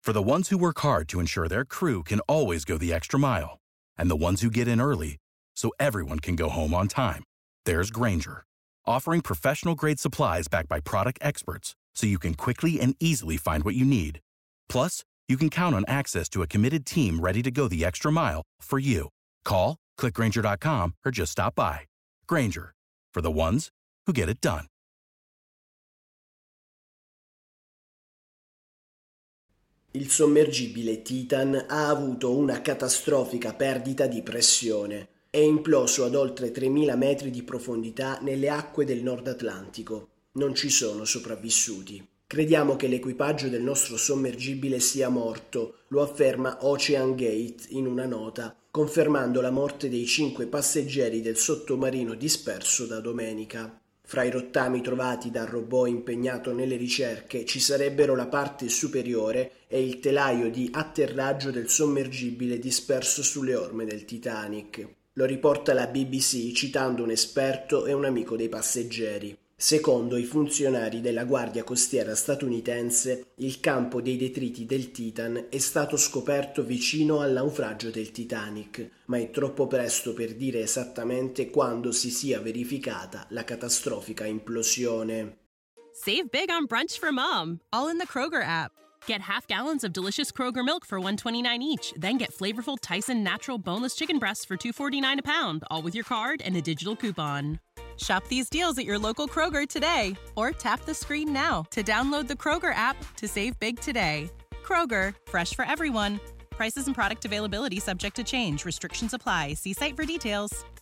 For the ones who work hard to ensure their crew can always go the extra mile, and the ones who get in early so everyone can go home on time, there's Grainger, offering professional-grade supplies backed by product experts so you can quickly and easily find what you need. Plus, you can count on access to a committed team ready to go the extra mile for you. Call, click Grainger.com, or just stop by. Grainger, for the ones who get it done. Il sommergibile Titan ha avuto una catastrofica perdita di pressione. È imploso ad oltre 3.000 metri di profondità nelle acque del Nord Atlantico. Non ci sono sopravvissuti. Crediamo che l'equipaggio del nostro sommergibile sia morto, lo afferma Ocean Gate in una nota, confermando la morte dei 5 passeggeri del sottomarino disperso da domenica. Fra i rottami trovati dal robot impegnato nelle ricerche ci sarebbero la parte superiore e il telaio di atterraggio del sommergibile disperso sulle orme del Titanic. Lo riporta la BBC citando un esperto e un amico dei passeggeri. Secondo i funzionari della Guardia Costiera statunitense, il campo dei detriti del Titan è stato scoperto vicino al naufragio del Titanic, ma è troppo presto per dire esattamente quando si sia verificata la catastrofica implosione. Save big on brunch for mom, all in the Kroger app. Get half gallons of delicious Kroger milk for $1.29 each. Then get flavorful Tyson natural boneless chicken breasts for $2.49 a pound, all with your card and a digital coupon. Shop these deals at your local Kroger today, or tap the screen now to download the Kroger app to save big today. Kroger, fresh for everyone. Prices and product availability subject to change. Restrictions apply. See site for details.